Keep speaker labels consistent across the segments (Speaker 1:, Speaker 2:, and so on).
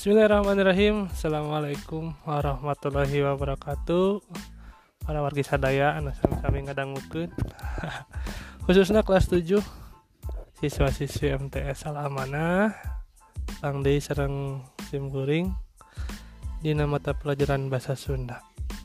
Speaker 1: Bismillahirrahmanirrahim. Assalamualaikum warahmatullahi wabarakatuh. Para wargi sadaya anu sami-sami ngadangukeun. Khususna kelas 7 siswa-siswi MTS Al-Amanah Kang Deui sareng Sim Kuring dina mata pelajaran bahasa Sunda.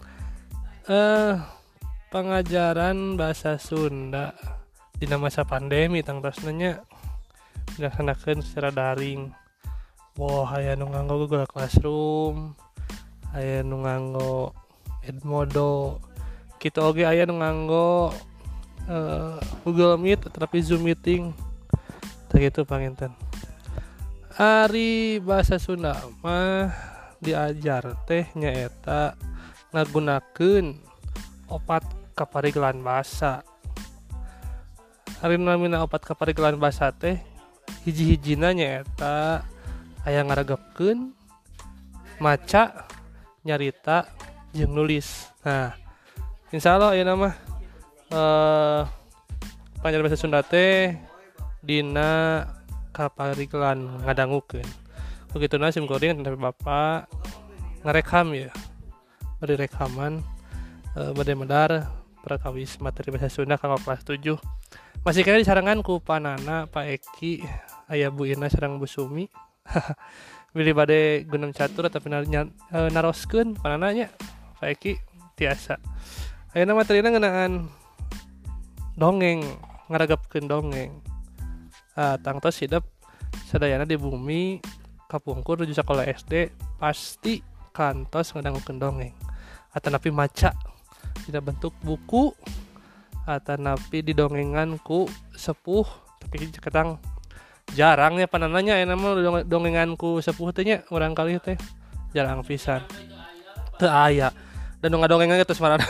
Speaker 1: Pengajaran bahasa Sunda dina masa pandemi tangtosna nya dilaksanakeun secara daring. Aya nu nganggo Google Classroom, aya nu nganggo Edmodo, kitu oge aya nu nganggo Google Meet tapi Zoom meeting. Tah kitu panginten. Ari bahasa Sunda mah diajar teh nyaeta ngagunakeun opat kaparigelan basa. Ari namina opat kaparigelan basa teh hiji-hijina nyaeta aya ngaragapkeun, maca, nyarita, jeung nulis. Nah, insyaallah aya nama pangajaran bahasa Sunda teh dina kaparigelan ngadangukeun. Begituna Sim Kuring tapi Bapak ngarekam ya. Bari rekaman bade medar prakawis materi bahasa Sunda kanggo kelas 7. Masih kena disarangan ku panana Pak Eki, aya Bu Ina sareng Bu Sumi. Bilih bade gunung catur tapi naroskeun panananya Pak Eki tiasa. Ayeuna materina ngeunaan dongeng, ngaragapkeun dongeng. Tangtos hidup sadayana di bumi kapungkur nuju sakola SD pasti kantos ngadangukeun dongeng. Atanapi maca dina bentuk buku, atanapi didongengan ku sepuh tapi kadang jarangnya panananya aya mah dongengan ku sepuh teh nya urang kali teh jarang pisan. Teu aya. Dan ngadongengan geus marana.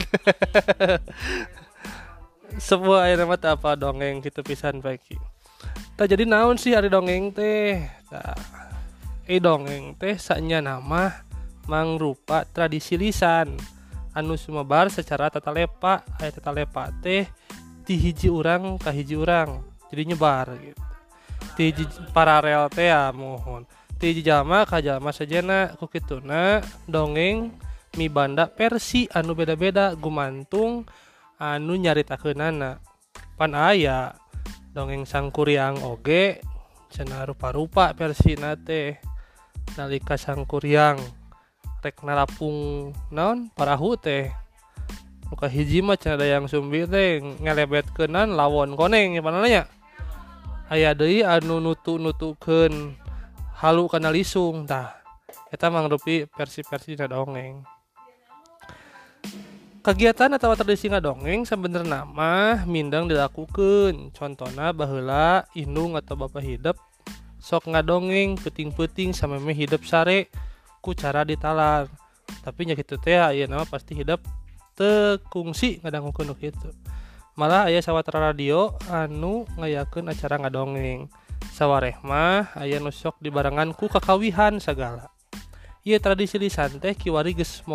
Speaker 1: Sepuh aya mah teh apa dongeng kitu pisan baiki. Tah jadi naon sih ari dongeng teh? Tah dongeng teh sanya nama mangrupa tradisi lisan anu sumebar secara tatalepa. Aya tatalepa teh ti hiji urang ka hiji urang jadi nyebar gitu. Ti hiji paralel teh mohon. Ti hiji jalma ka jalma sajena ku kituna dongeng mibanda versi anu beda-beda gumantung anu nyaritakeunana. Pan aya dongeng Sangkuriang oge cenah rupa-rupa versina teh. Nalika Sangkuriang rek narapung naon parahu teh nu kahiji mah cenah dayang sumbi teh ngelebetkeunan lawon koneng pananya. Aya deui anu nutu-nutukeun halu kana lisung. Tah eta mangrupi versi-versi dina dongeng. Kegiatan atawa tradisi ngadongeng sabenerna mah mindeng dilakukeun. Contona baheula indung atau bapa hidup sok ngadongeng peuting-peuting sameme hidup sare ku cara ditalar. Tapi nya kitu teh ayeuna mah pasti hidup teu kungsi ngadangukeun kitu. Malah aya sawatara radio anu ngayakeun acara ngadongeng. Sawareh mah aya nu sok dibarengan ku kakawihan sagala. Ieu tradisi lisan teh kiwari geus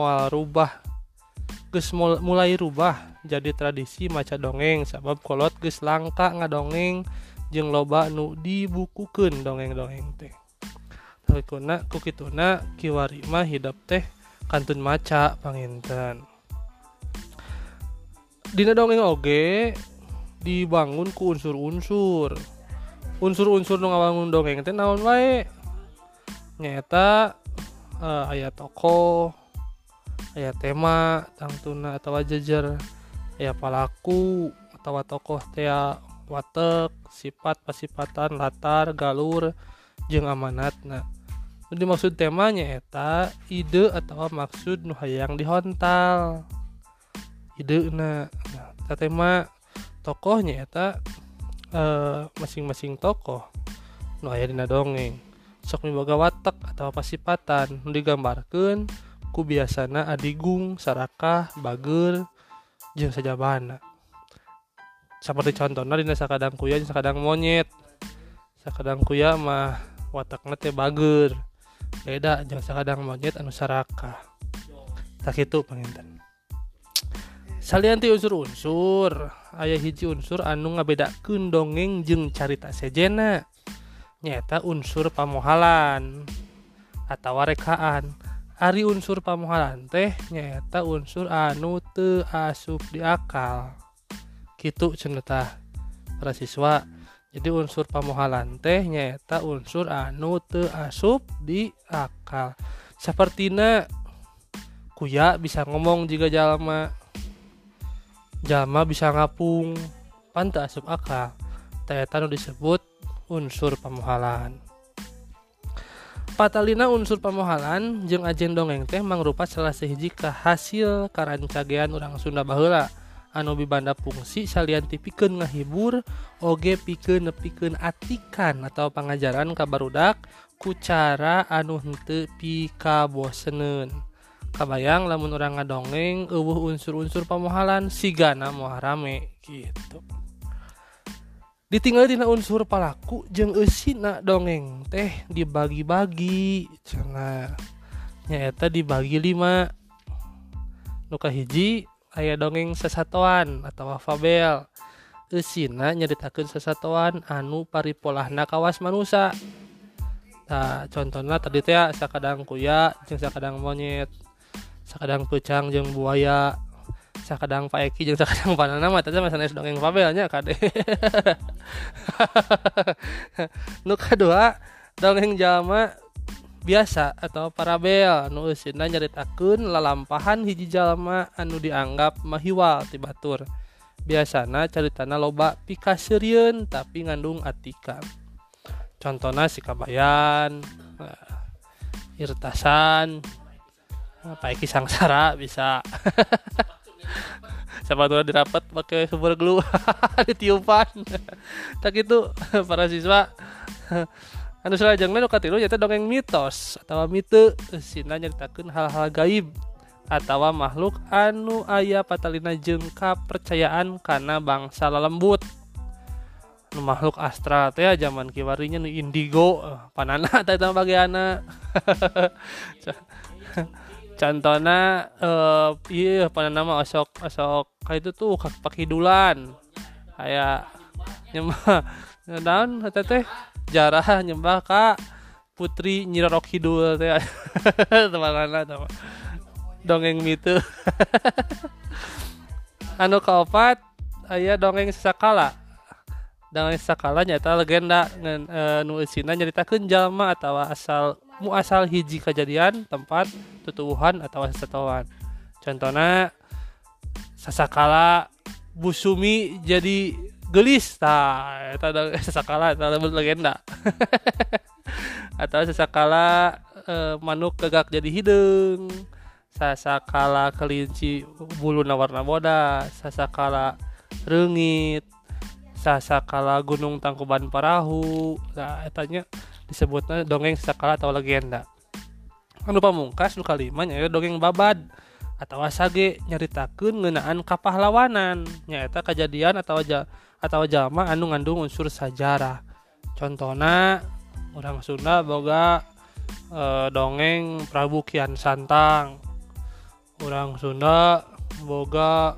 Speaker 1: mulai rubah jadi tradisi maca dongeng sabab kolot geus langka ngadongeng jeung loba nu dibukukeun dongeng-dongeng teh. Ku kituna kiwari mah hidup teh kantun maca panginten. Dina dongeng oge dibangun ku unsur-unsur. Unsur-unsur nu ngawangun dongeng teh naon wae? Nyaeta aya tokoh, aya tema tangtuna atawa jejer, aya palaku atawa tokoh teh watek, sifat pasifatan, latar, galur, jeung amanatna. Nu dimaksud tema nyaeta ide atawa maksud nu hayang dihontal. Ideuna. Nah, tema tokoh nyaeta masing-masing tokoh nu aya dina dongeng sok miboga watak atawa pasifatan nu digambarkeun ku biasana adigung, sarakah, bageur jeung sajabana. Saperti contona dina sakadang kuya jeung sakadang monyet. Sakadang kuya mah watakna teh bageur. Beda jeung sakadang monyet anu sarakah. Tah kitu panginten. Salian ti unsur-unsur, aya hiji unsur anu ngabedakeun dongeng jeung carita sejena. Nyaeta unsur pamohalan. atawa rekaan. Ari unsur pamohalan teh nyaeta unsur anu teu asup di akal. Kitu cenah tah para siswa. Jadi unsur pamohalan teh nyaeta unsur anu teu asup di akal. Sapertina kuya bisa ngomong jika jalma bisa ngapung pan teu asup akal. Tah eta nu disebut unsur pamohalan. Patalina unsur pamohalan jeung ajen dongeng teh mangrupa salah sahiji hasil karancagean urang Sunda baheula anu mibanda fungsi salian ti pikeun ngahibur oge pikeun nepikeun atikan atau pangajaran ka barudak ku cara anu henteu pikaboseneun. Kabayang lamun urang ngadongeng eueuh unsur-unsur pamohalan sigana moal rame gitu. Ditinggal dina unsur palaku jeung eusina dongeng teh dibagi-bagi cenah nyaeta dibagi 5. Nu kahiji aya dongeng sasatoan atau fabel. Eusina nyaritakeun sasatoan anu paripolahna kawas manusa. Nah, contohna tadi teh sakadang kuya jeung sakadang monyet, sakadang peucang jeung buaya, sakadang Pak Eki jeung sakadang panana mah teh masanes dongeng fabelnya kade. Nu kadua dongeng jalma biasa atau parabel nu eusina nyaritakeun lalampahan hiji jalma anu dianggap mahiwal ti batur. Biasana caritana loba pikaseurieun tapi ngandung atikan. Contohna si Kabayan, Irtasan, Pak Eki Sangsara bisa. Sepatunya dirapat pakai super glue ditiupan. Tak gitu para siswa. Anu salajengna nu katilu nyaeta dongeng mitos atawa mite eusina nyaritakeun hal-hal gaib atawa makhluk anu aya patalina jeung kapercayaan kana bangsa lalembut. Nu makhluk astral teh zaman kiwarinya nu indigo panana teh eta bageana. Contohna ieu panana mah osok ka itu tuh pakidulan aya nyembah naon eta teh jarah nyembah ka putri Nyi Roro Kidul teh temanana teh dongeng mitu. Anu kaopat aya dongeng sasakala. Dongeng sasakala nyaeta legenda nu eusina nyaritakeun jalma atawa asal hiji kejadian, tempat, tutuwuhan atawa sasatoan. Contohna sasakala Busumi jadi gelis, tah eta sasakala eta legenda. Atau sasakala manuk gagak jadi hideung, sasakala kelinci buluna warna bodas, sasakala reungit, sasakala gunung Tangkuban Parahu. Nah etanya disebutna dongeng sasakala atau legenda. Anu pamungkas nu kalima nyaeta dongeng babad atau sage nyaritakeun ngeunaan kapahlawanan, nyaeta kejadian atau jalma anu ngandung unsur sajarah. Contohna urang Sunda boga dongeng Prabu Kian Santang. Urang Sunda boga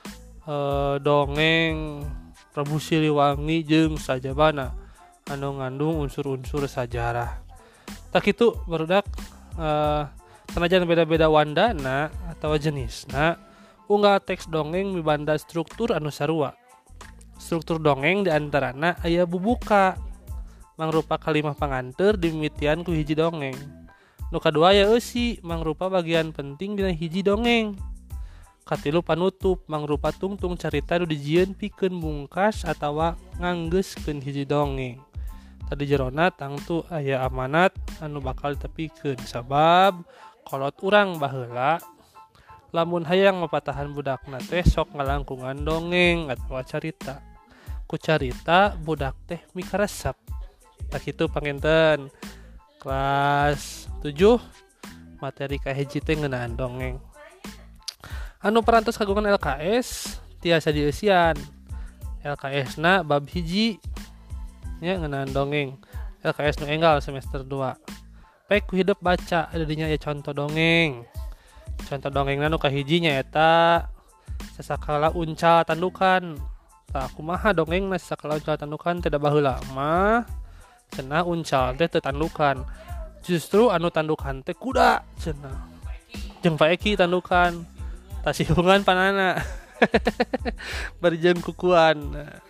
Speaker 1: dongeng Prabu Siliwangi jeung sajabana anu ngandung unsur-unsur sajarah. Tak kitu barudak sanajan beda-beda wandana atau jenisna, unggal teks dongeng mibanda struktur anu sarua. Struktur dongeng diantarana aya bubuka, mangrupa kalimah panganteur dimimitian ku hiji dongeng. Nu kadua aya eusi, mangrupa bagian penting dina hiji dongeng. Katilu panutup, mangrupa tungtung carita nu dijieun pikeun mungkas atawa nganggeuskeun hiji dongeng. Tadi jerona tangtu aya amanat anu bakal ditepikeun sabab kolot urang baheula lamun hayang mapatahan budakna teh sok ngalangkungan dongeng atawa carita. Ku carita budak teh mikaresep. Tak kitu panginten kelas 7 materi kahiji teh ngeunaan dongeng. Anu parantos kagungan LKS tiasa dieusian. LKS-na bab hiji nya ngeunaan dongeng. LKS nu enggal semester 2. Pek ku hidup baca ada dinya ya contoh dongeng. Contoh dongengna nu kahiji nyaeta sasakala uncal tandukan. Tah kumaha dongengna sasakala uncal tandukan teh da baheula mah cenah uncal teh teu tandukan. justru anu tandukan teh kuda cenah jeung Pak Eki tandukan tasihungan panana berjeng kukuan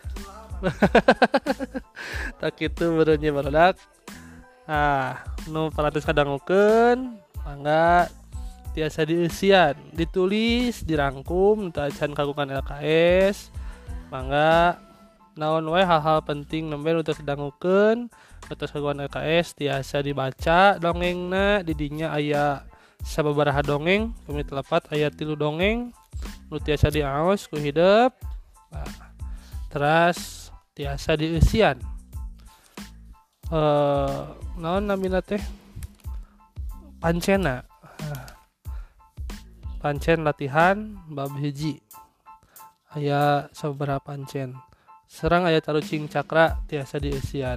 Speaker 1: tak itu berenya barudak nu palatus kadangukeun mangga tiasa dieusian ditulis dirangkum teu acan kagungan LKS mangga naon wae hal-hal penting nembe nu teu kadangukeun atas kagungan LKS tiasa dibaca dongengna di dinya aya sababaraha dongeng kami telepat aya 3 dongeng nu tiasa diaos ku hideep teras tiasa dieusian naon namina teh pancena pancen latihan bab hiji aya sababaraha pancen serang aya tarucing cakra tiasa dieusian.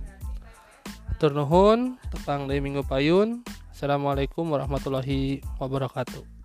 Speaker 1: Hatur nuhun tepang deui minggu payun. Assalamualaikum warahmatullahi wabarakatuh.